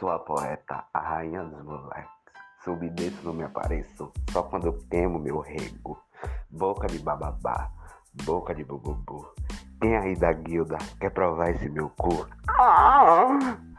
Sou a poeta, a rainha dos moleques. Subo e desço, não me apareço, só quando eu queimo meu rego. Boca de bababá, boca de bububu. Quem aí da guilda quer provar esse meu cu?